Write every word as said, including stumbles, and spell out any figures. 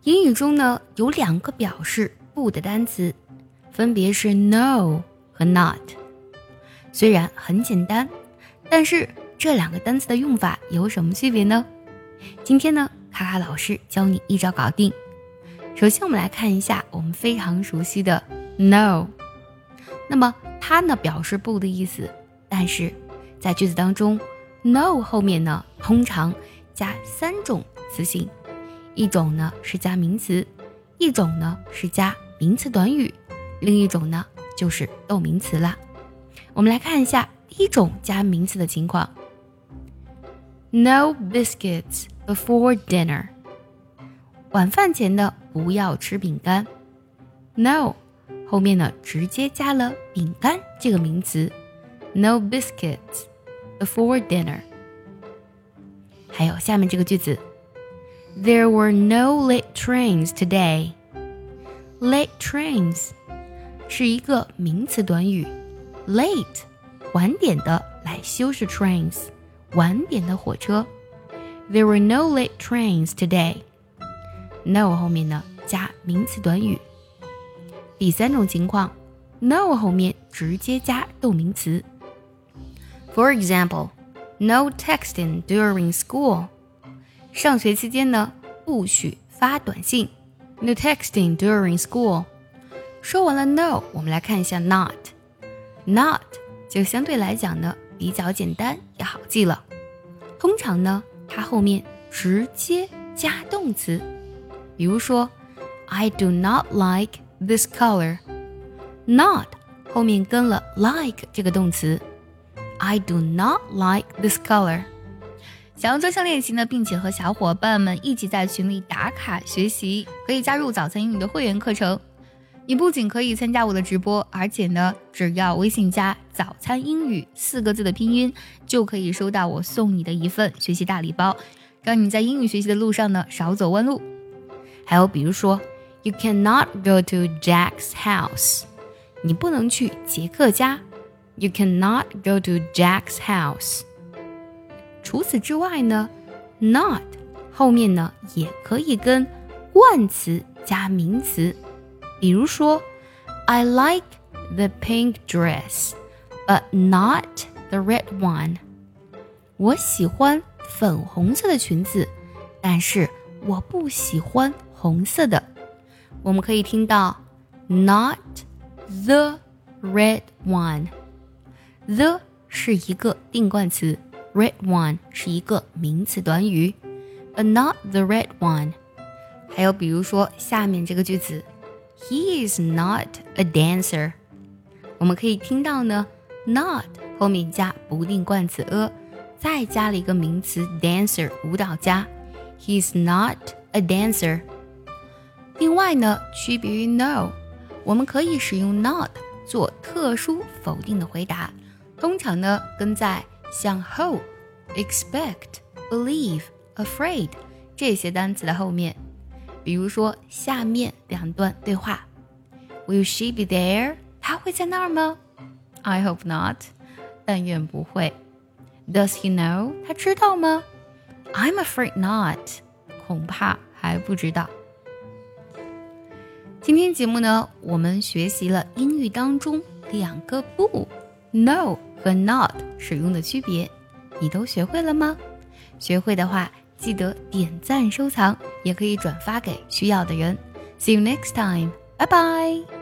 英语中呢有两个表示不的单词，分别是 no 和 not。 虽然很简单，但是这两个单词的用法有什么区别呢？今天呢卡卡老师教你一招搞定。首先我们来看一下我们非常熟悉的 no， 那么它呢表示不的意思，但是在句子当中 no 后面呢通常加三种词性，一种呢是加名词，一种呢是加名词短语，另一种呢就是动名词啦。我们来看一下第一种加名词的情况。 No biscuits before dinner， 晚饭前呢不要吃饼干。 No 后面呢直接加了饼干这个名词， No biscuits before dinner。 还有下面这个句子， There were no late trains today。 Late trains 是一个名词短语， late 晚点的来修饰 trains 晚点的火车。 There were no late trains today。 No 后面呢加名词短语。第三种情况， No 后面直接加动名词。 For example, no texting during school。 上学期间呢不许发短信。 No texting during school。 说完了 no， 我们来看一下 not。 Not 就相对来讲呢比较简单也好记了，通常呢它后面直接加动词。比如说 I do not like this color， Not 后面跟了 like 这个动词， I do not like this color。 想要专项练习呢，并且和小伙伴们一起在群里打卡学习，可以加入早餐英语的会员课程。你不仅可以参加我的直播，而且呢只要微信加早餐英语四个字的拼音，就可以收到我送你的一份学习大礼包，让你在英语学习的路上呢少走弯路。还有比如说 You cannot go to Jack's house， 你不能去杰克家。 You cannot go to Jack's house。 除此之外呢 Not 后面呢也可以跟冠词加名词。比如说 I like the pink dress but not the red one。 我喜欢粉红色的裙子，但是我不喜欢红色的。我们可以听到 not the red one。 The 是一个定冠词， red one 是一个名词短语， but not the red one。 还有比如说下面这个句子， He is not a dancer。 我们可以听到呢 not 后面加不定冠词 a， 再加了一个名词 dancer 舞蹈家， He is not a dancer。 另外呢区别于 no， 我们可以使用 not 做特殊否定的回答，通常呢跟在像 hope, expect, believe, afraid 这些单词的后面。比如说下面两段对话， Will she be there？ 她会在那儿吗？ I hope not， 但愿不会。 Does he know？ 他知道吗？ I'm afraid not， 恐怕还不知道。今天节目呢我们学习了英语当中两个不 no 和 not 使用的区别，你都学会了吗？学会的话记得点赞收藏，也可以转发给需要的人。See you next time. Bye bye.